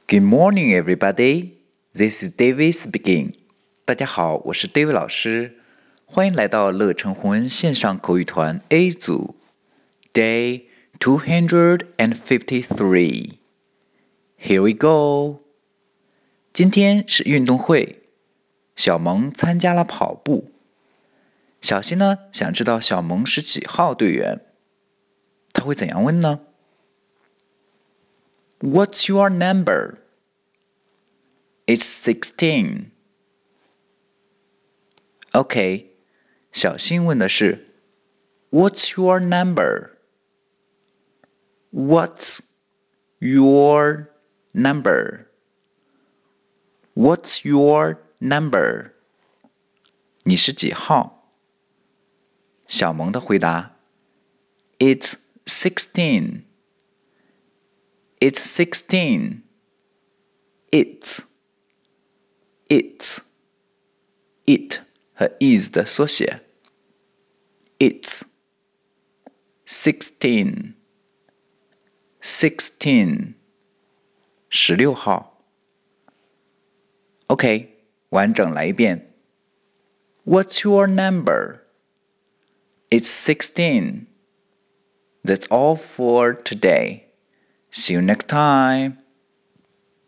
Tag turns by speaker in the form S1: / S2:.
S1: Good morning, everybody. This is David speaking. 大家好，我是 David 老师，欢迎来到乐成红恩线上口语团 A 组 Day 253. Here we go. 今天是运动会，小萌参加了跑步。小新呢，想知道小萌是几号队员？他会怎样问呢？ What's your number? It's 16. OK, 小新问的是 What's your number? What's your number? What's your number? 你是几号？小萌的回答 It's 16. It's 16. It 和 is 的缩写 It's 16 16号 OK 完整来一遍 What's your number? It's 16 That's all for today. See you next time.